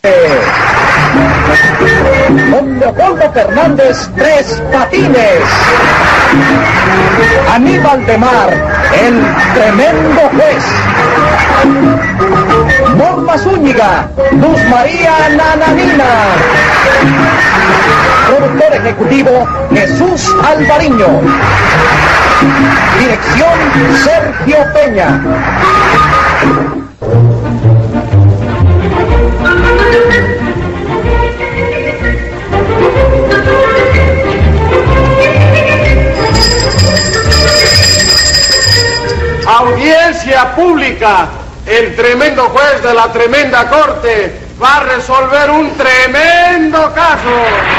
Don Leopoldo Fernández Tres Patines. Aníbal de Mar, el tremendo juez. Norma Zúñiga, Luz María Nananina. Productor ejecutivo, Jesús Alvariño. Dirección, Sergio Peña. Audiencia pública. El tremendo juez de la tremenda corte va a resolver un tremendo caso.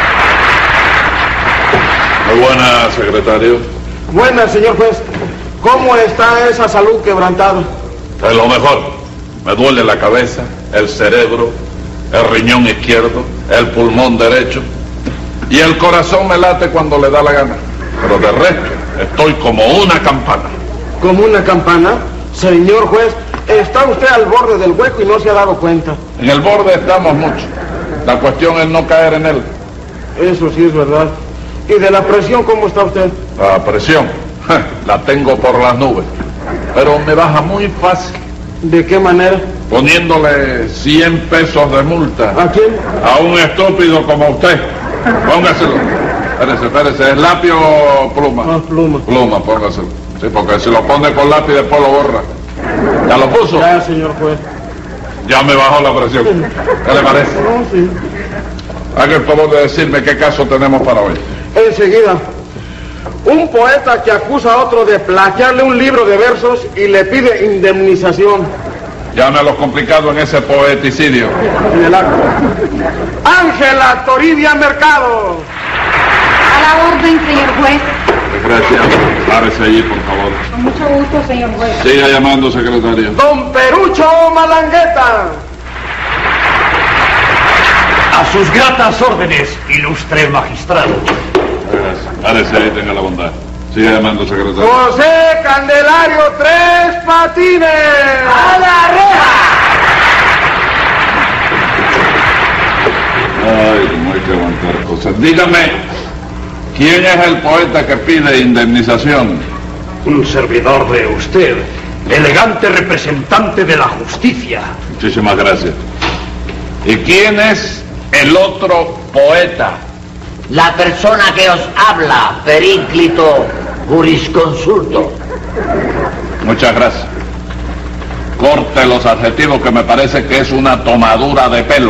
Muy buena, secretario. Buena, señor juez. ¿Cómo está esa salud quebrantada? Es lo mejor. Me duele la cabeza, el cerebro, el riñón izquierdo, el pulmón derecho y el corazón me late cuando le da la gana. Pero de resto, estoy como una campana. ¿Como una campana? Señor juez, está usted al borde del hueco y no se ha dado cuenta. En el borde estamos mucho. La cuestión es no caer en él. Eso sí es verdad. ¿Y de la presión cómo está usted? La presión, la tengo por las nubes. Pero me baja muy fácil. ¿De qué manera? Poniéndole 100 pesos de multa. ¿A quién? A un estúpido como usted. Póngaselo. Espérese, ¿es lápiz o pluma? Ah, pluma. Pluma, póngaselo. Sí, porque si lo pone con lápiz después lo borra. ¿Ya lo puso? Ya, señor juez. Ya me bajó la presión. ¿Qué le parece? No, sí. Haga el favor de decirme qué caso tenemos para hoy. Enseguida. Un poeta que acusa a otro de plagiarle un libro de versos y le pide indemnización. Llame a los complicados en ese poeticidio. En el acto. Ángela Toribia Mercado. A la orden, señor juez. Gracias. Párese allí, por favor. Con mucho gusto, señor juez. Siga llamando, secretario. Don Perucho Malangueta. A sus gratas órdenes, ilustre magistrado. Gracias. Párese ahí, tenga la bondad. Siga llamando, secretario. José Candelario Tres Patines. ¡A la reja! Ay, cómo hay que aguantar cosas. Dígame, ¿quién es el poeta que pide indemnización? Un servidor de usted, elegante representante de la justicia. Muchísimas gracias. ¿Y quién es el otro poeta? La persona que os habla, Períclito Jurisconsulto. Muchas gracias. Corte los adjetivos que me parece que es una tomadura de pelo.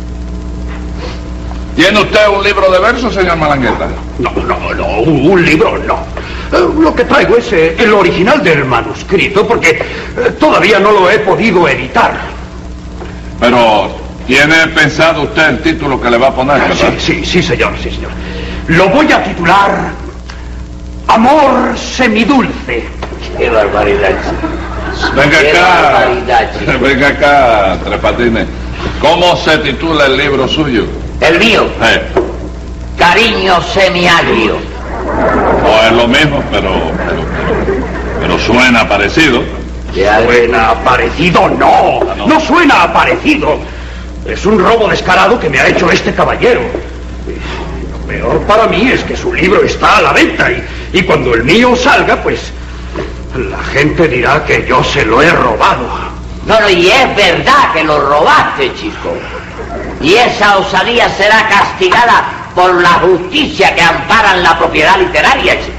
¿Tiene usted un libro de versos, señor Malangueta? No, un libro no. Lo que traigo es el original del manuscrito, porque todavía no lo he podido editar. Pero, ¿tiene pensado usted el título que le va a poner, verdad? Sí, señor. Lo voy a titular Amor semidulce. ¡Qué barbaridad! Venga ¡Qué acá, barbaridad, chico! venga acá, Tres Patines. ¿Cómo se titula el libro suyo? El mío, Cariño semiagrio. No es lo mismo, pero suena parecido. ¿Suena parecido? No suena parecido. Es un robo descarado que me ha hecho este caballero. Lo peor para mí es que su libro está a la venta y cuando el mío salga, pues la gente dirá que yo se lo he robado. No, y es verdad que lo robaste, chico. Y esa osadía será castigada por la justicia que ampara la propiedad literaria, chico.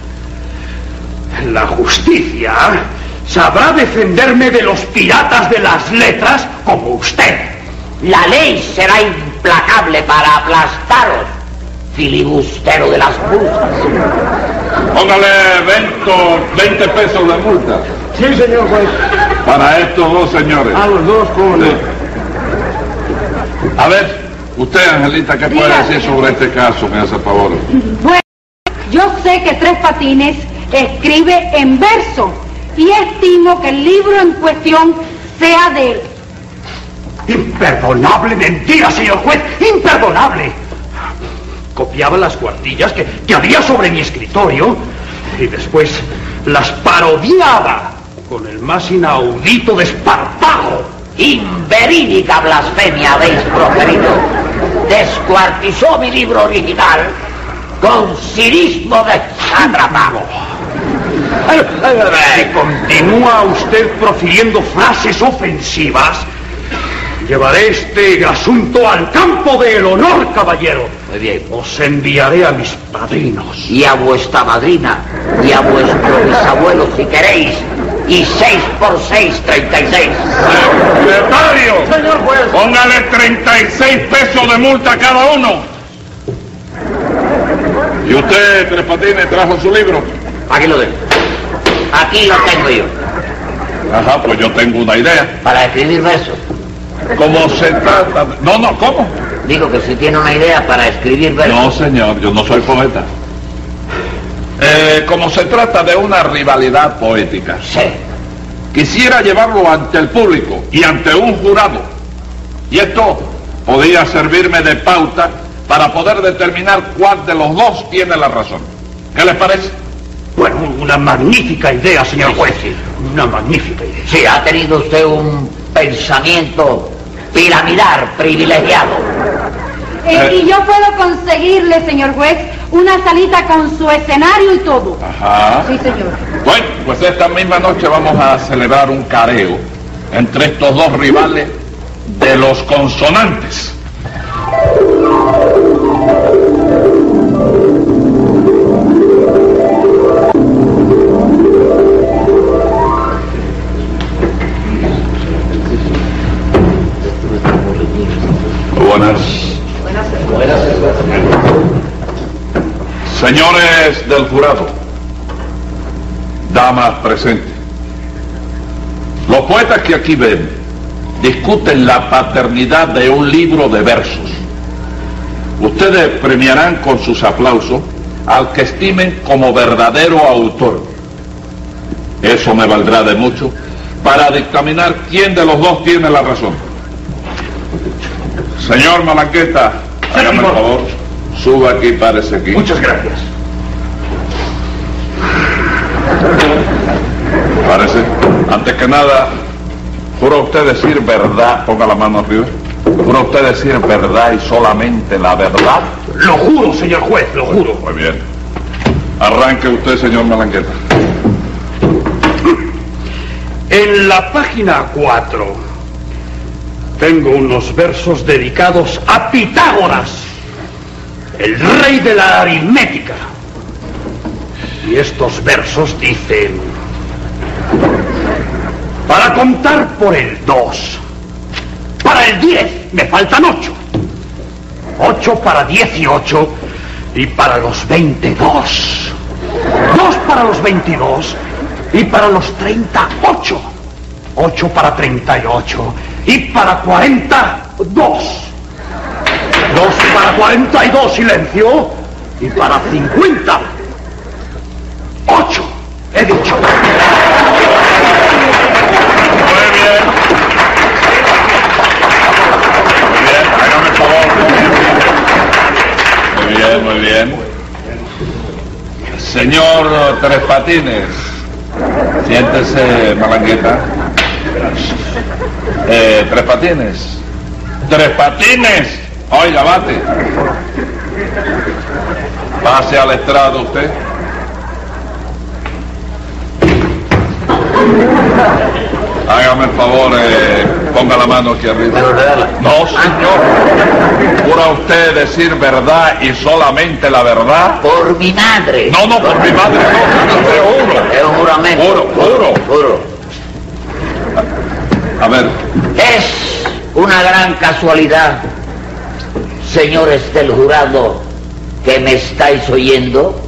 La justicia sabrá defenderme de los piratas de las letras como usted. La ley será implacable para aplastaros, filibustero de las multas. Póngale 20 pesos de multa. Sí, señor juez. Para estos dos señores. A los dos, ¿cómo no? Sí. A ver, usted, Angelita, ¿qué puede decir sobre este caso? Me hace favor. Bueno, yo sé que Tres Patines escribe en verso y estimo que el libro en cuestión sea de él. Imperdonable mentira, señor juez, imperdonable. Copiaba las cuartillas que había sobre mi escritorio y después las parodiaba con el más inaudito desparpajo. inverídica blasfemia habéis proferido. Descuartizó mi libro original con cinismo de sátrapa. Continúa usted profiriendo frases ofensivas. Llevaré este asunto al campo del honor, caballero. Muy bien. Os enviaré a mis padrinos. Y a vuestra madrina, y a vuestro bisabuelo si queréis, y 6 por 6, 36. ¡Secretario! Señor juez. Póngale 36 pesos de multa a cada uno. ¿Y usted, Tres Patines, trajo su libro? Aquí lo tengo. Aquí lo tengo yo. Ajá, pues yo tengo una idea. Para escribir versos. ¿Cómo se trata? No, ¿cómo? Digo que si tiene una idea para escribir versos. No, señor, yo no soy poeta. Como se trata de una rivalidad poética, Sí. quisiera llevarlo ante el público y ante un jurado. Y esto podría servirme de pauta para poder determinar cuál de los dos tiene la razón. ¿Qué les parece? Bueno, una magnífica idea, señor Sí, juez. sí, sí. Una magnífica idea. Sí, ha tenido usted un pensamiento piramidal privilegiado. Y yo puedo conseguirle, señor juez, una salita con su escenario y todo. Ajá. Sí, señor. Bueno, pues esta misma noche vamos a celebrar un careo entre estos dos rivales de los consonantes. Buenas. Señores del jurado, damas presentes, los poetas que aquí ven discuten la paternidad de un libro de versos. Ustedes premiarán con sus aplausos al que estimen como verdadero autor. Eso me valdrá de mucho para dictaminar quién de los dos tiene la razón. Señor Malanqueta, hágame el favor, suba aquí, párese aquí. Muchas gracias. Parece. Antes que nada, ¿jura usted decir verdad? Ponga la mano arriba. ¿Jura usted decir verdad y solamente la verdad? Lo juro, señor juez, lo juro. Muy bien. Arranque usted, señor Malanqueta. En la página 4 tengo unos versos dedicados a Pitágoras, el rey de la aritmética. Y estos versos dicen: para contar por el 2, para el 10 me faltan 8, 8 para 18 y para los 22, 2 para los 22 y para los 38, 8 para 38 y para 42, 2 para 42, silencio, y para 50, 8, he dicho. Muy bien. Muy bien, hágame el favor. Muy bien. Señor Tres Patines, siéntese, Malanqueta. Tres Patines. Tres Patines. Oiga, bate. Pase al estrado usted. Hágame el favor, ponga la mano aquí arriba. No, señor. ¿Jura usted decir verdad y solamente la verdad? Por mi madre. No, por mi madre no, te juro. Es un juramento. Juro. A ver. Es una gran casualidad, señores del jurado, que me estáis oyendo,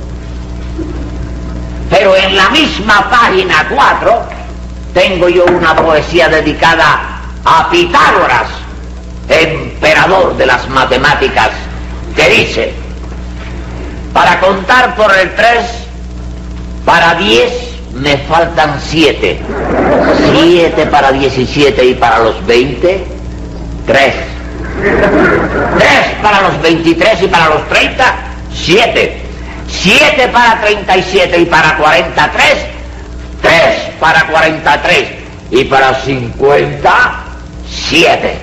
pero en la misma página 4 tengo yo una poesía dedicada a Pitágoras, emperador de las matemáticas, que dice: para contar por el 3, para 10 me faltan 7, 7 para 17 y para los 20, 3, 3 para los 23 y para los 30, 7, 7 para 37 y para 43, 3 para 43 y para 50, 7.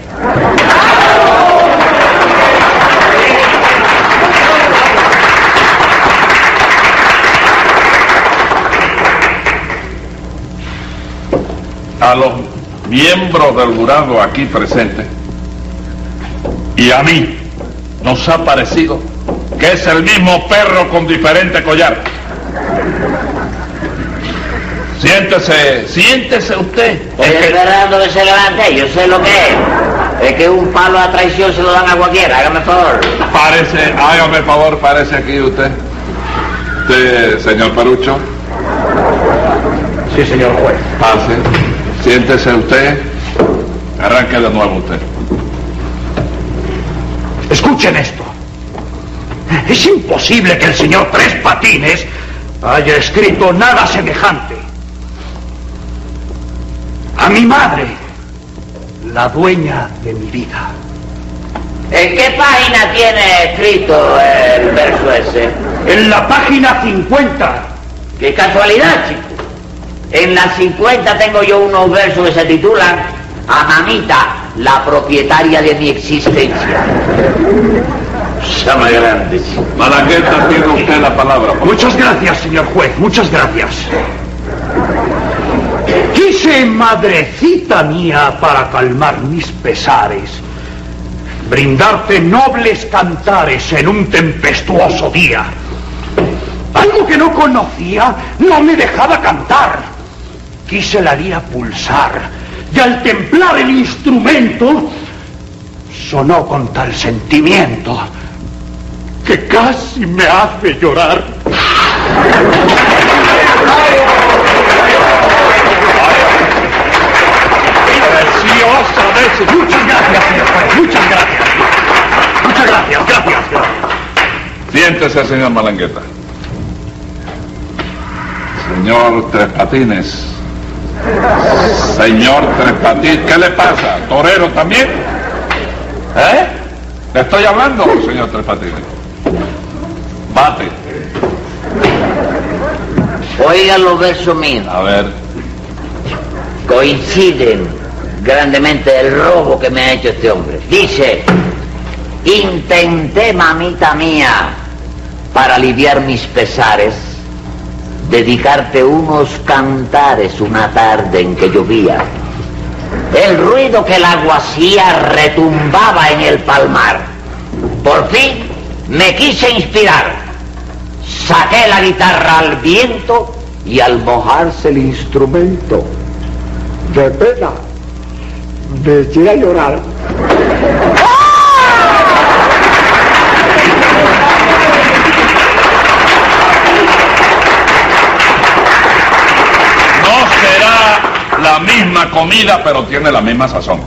A los miembros del jurado aquí presentes y a mí nos ha parecido que es el mismo perro con diferente collar. Siéntese usted. Estoy esperando que se levante, yo sé lo que es. Es que un palo a traición se lo dan a cualquiera, hágame favor. Hágame favor, parece aquí usted. Usted, señor Perucho. Sí, señor juez. Pase. Siéntese usted. Arranque de nuevo usted. Escuchen esto. Es imposible que el señor Tres Patines haya escrito nada semejante. A mi madre, la dueña de mi vida. ¿En qué página tiene escrito el verso ese? En la página 50. ¡Qué casualidad, chico! En la 50 tengo yo unos versos que se titulan A mamita, la propietaria de mi existencia. Llama grande. Malagueta, tiene usted la palabra. Muchas gracias, señor juez, muchas gracias. Quise, madrecita mía, para calmar mis pesares, brindarte nobles cantares en un tempestuoso día. Algo que no conocía no me dejaba cantar. Quise la lira pulsar y al templar el instrumento sonó con tal sentimiento que casi me hace llorar. Preciosamente. Muchas gracias, señor juez, muchas gracias. Muchas gracias, gracias. Siéntese, señor Malangueta. Señor Tres Patines. Señor Tres Patines, ¿qué le pasa? ¿Torero también? ¿Eh? ¿Le estoy hablando, señor Tres Patines? Bate. Oigan los versos míos. A ver. Coinciden grandemente el robo que me ha hecho este hombre. Dice: intenté, mamita mía, para aliviar mis pesares, dedicarte unos cantares una tarde en que llovía. El ruido que el agua hacía retumbaba en el palmar. Por fin me quise inspirar. Saqué la guitarra al viento y al mojarse el instrumento, de pena, me eché a llorar. La misma comida, pero tiene la misma sazón.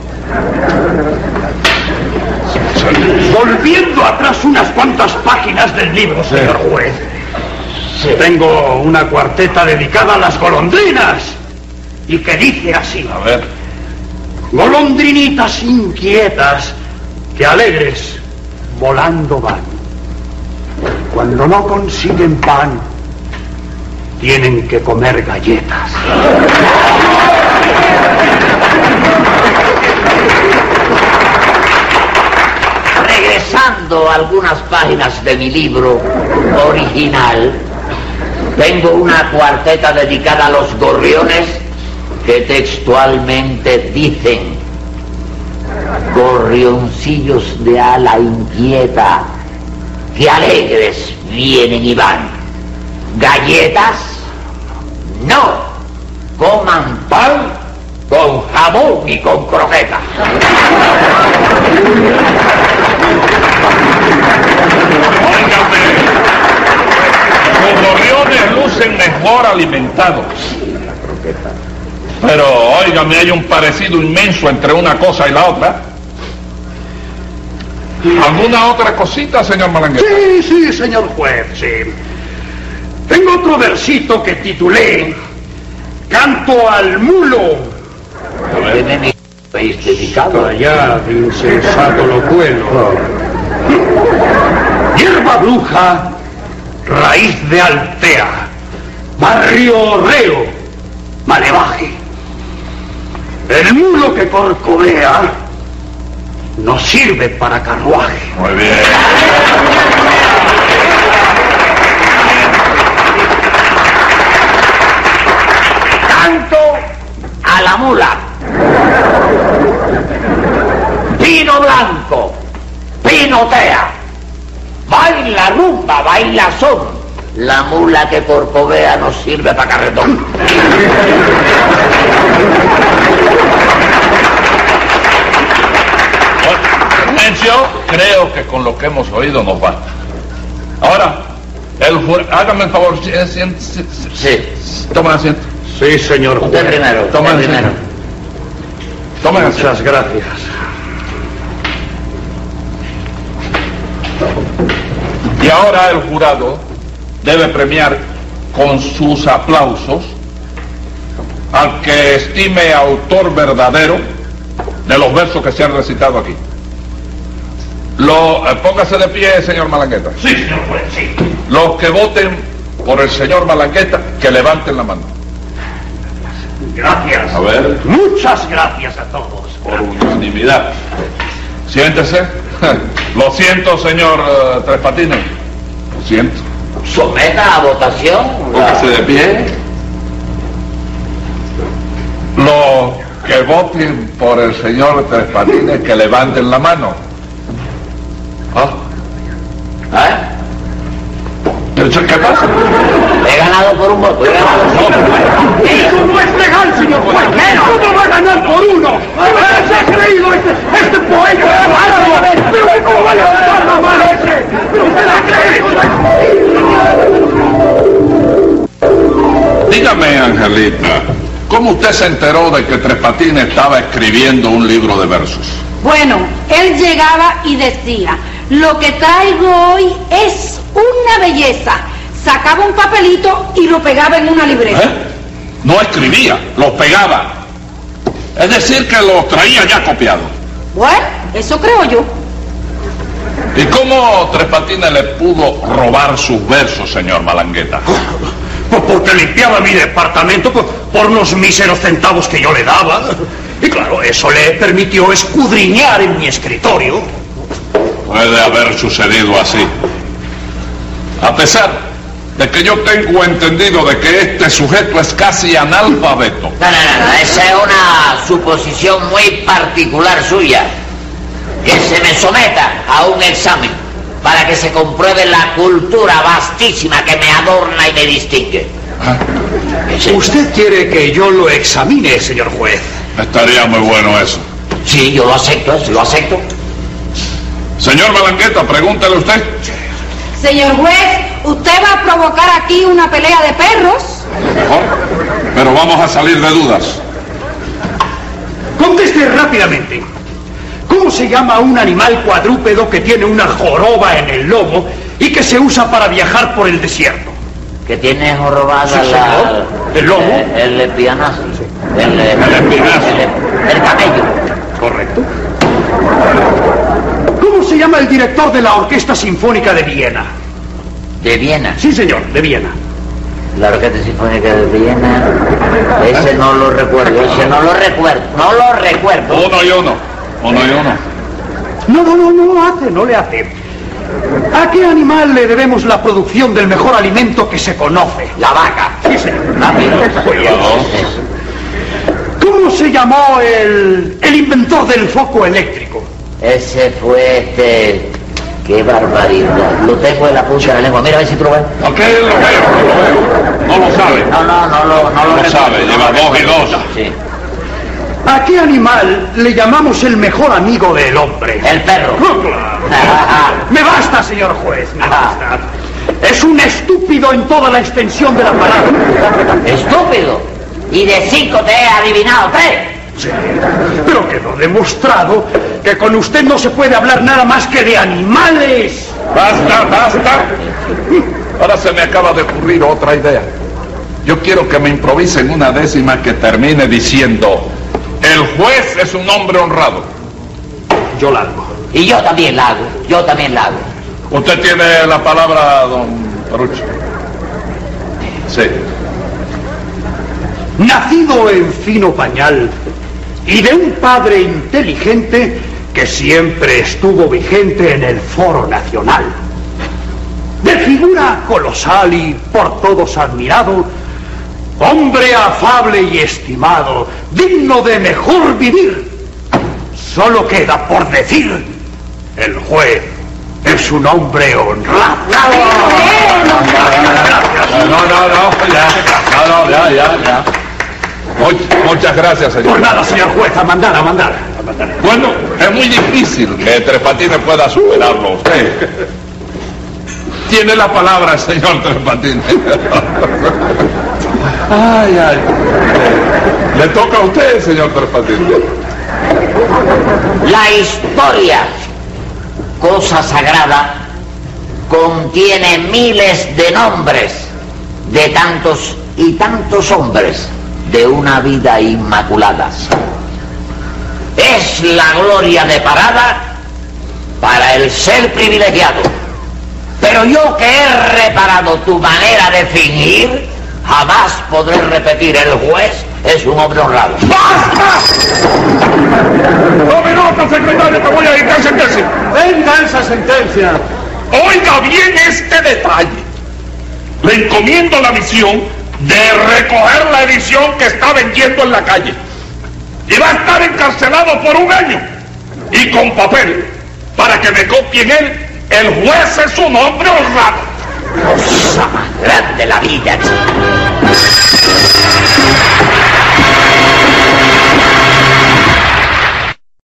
Volviendo atrás unas cuantas páginas del libro, señor juez. Sí. Tengo una cuarteta dedicada a las golondrinas y que dice así. A ver. Golondrinitas inquietas que alegres volando van. Cuando no consiguen pan, tienen que comer galletas. Regresando a algunas páginas de mi libro original, tengo una cuarteta dedicada a los gorriones que textualmente dicen: gorrioncillos de ala inquieta, que alegres vienen y van. Galletas, no, coman pan con jamón y con croqueta. Óigame, los gorriones lucen mejor alimentados. Pero, óigame, hay un parecido inmenso entre una cosa y la otra. ¿Alguna otra cosita, señor Malangueta? Sí, señor juez, sí. Tengo otro versito que titulé Canto al mulo. ¿Qué me habéis dedicado? Allá, insensato locuelo. Hierba bruja, raíz de altea, barrio reo, malevaje. El mulo que corcovea no sirve para carruaje. Muy bien. Canto a la mula. Pino blanco, pinotea. Baila rumba, baila son. La mula que corcovea no sirve para carretón. Silencio, creo que con lo que hemos oído nos basta. Ahora, hágame el favor, Sí. Toma asiento. Sí, señor juez. Usted primero. Toma Usted asiento. primero. Toma asiento. Muchas gracias. Y ahora el jurado debe premiar con sus aplausos al que estime autor verdadero de los versos que se han recitado aquí. Póngase de pie, señor Malangueta. Sí, señor juez, sí. Los que voten por el señor Malangueta, que levanten la mano. Gracias. A ver. Muchas gracias a todos. Por unanimidad. Siéntese. Lo siento, señor Tres Patines. Lo siento. Someta a votación. Póngase de pie. Los que voten por el señor Tres Patines, que levanten la mano. ¿Qué pasa? He ganado por un voto. He ganado por un voto. ¡Eso no es legal, señor juez! ¿Cómo va a ganar por uno? ¿Se ha creído este poeta? ¿Pero cómo va a levantar la mano ese? ¿Pero usted la cree? Dígame, Angelita, ¿cómo usted se enteró de que Tres Patines estaba escribiendo un libro de versos? Bueno, él llegaba y decía, lo que traigo hoy es una belleza. Sacaba un papelito y lo pegaba en una libreta. No escribía, los pegaba. Es decir, que los traía ya copiados. Bueno, eso creo yo. ¿Y cómo Tres Patines le pudo robar sus versos, señor Malangueta? Pues porque limpiaba mi departamento por unos míseros centavos que yo le daba. Y claro, eso le permitió escudriñar en mi escritorio. Puede haber sucedido así. A pesar de que yo tengo entendido de que este sujeto es casi analfabeto. No, esa es una suposición muy particular suya. Que se me someta a un examen para que se compruebe la cultura vastísima que me adorna y me distingue. ¿Ah? ¿Usted quiere que yo lo examine, señor juez? Estaría muy bueno eso. Sí, yo lo acepto, lo acepto. Señor Malangueta, pregúntele usted. Señor juez, ¿usted va a provocar aquí una pelea de perros? Mejor, pero vamos a salir de dudas. Conteste rápidamente. ¿Cómo se llama un animal cuadrúpedo que tiene una joroba en el lomo y que se usa para viajar por el desierto? Que tiene jorobada Sí, señor. ¿El lomo? El espinazo. El espinazo. El camello. Correcto. ¿Cómo se llama el director de la Orquesta Sinfónica de Viena? ¿De Viena? Sí, señor, de Viena. La Orquesta Sinfónica de Viena. Ese no lo recuerdo, no lo recuerdo. Uno y uno. No le hace. ¿A qué animal le debemos la producción del mejor alimento que se conoce? La vaca. Sí, señor. Rápido. ¿Cómo se llamó el inventor del foco eléctrico? Ese fue Qué barbaridad. Lo tengo en la punta de la lengua. Mira a ver si tú lo ves. Ok, lo veo. No lo sabe. No lo sabe. Lleva 2 y 2. Sí. ¿A qué animal le llamamos el mejor amigo del hombre? El perro. Me basta, señor juez, me basta. Es un estúpido en toda la extensión de la palabra. ¿Estúpido? Y de 5 te he adivinado 3. Sí, pero quedó demostrado que con usted no se puede hablar nada más que de animales. Basta. Ahora se me acaba de ocurrir otra idea. Yo quiero que me improvisen una décima que termine diciendo: el juez es un hombre honrado. Yo la hago. Y yo también la hago. Usted tiene la palabra, don Perucho. Sí. Nacido en fino pañal, y de un padre inteligente que siempre estuvo vigente en el foro nacional. De figura colosal y por todos admirado, hombre afable y estimado, digno de mejor vivir. Solo queda por decir, el juez es un hombre honrado. Ya. Muchas gracias, señor. Por nada, señor juez, a mandar. Bueno, es muy difícil que Tres Patines pueda superarlo a usted. Tiene la palabra, señor Tres Patines. Ay. Le toca a usted, señor Tres Patines. La historia, cosa sagrada, contiene miles de nombres de tantos y tantos hombres de una vida inmaculada. Es la gloria de parada para el ser privilegiado. Pero yo que he reparado tu manera de fingir, jamás podré repetir: el juez es un hombre honrado. ¡Basta! ¡Tome nota, secretario, que voy a ir a sentencia! Venga esa sentencia. Oiga bien este detalle. Le encomiendo la misión de recoger la edición que está vendiendo en la calle. Y va a estar encarcelado por 1 año. Y con papel, para que me copien él: el juez es un hombre honrado. Cosa más grande la vida.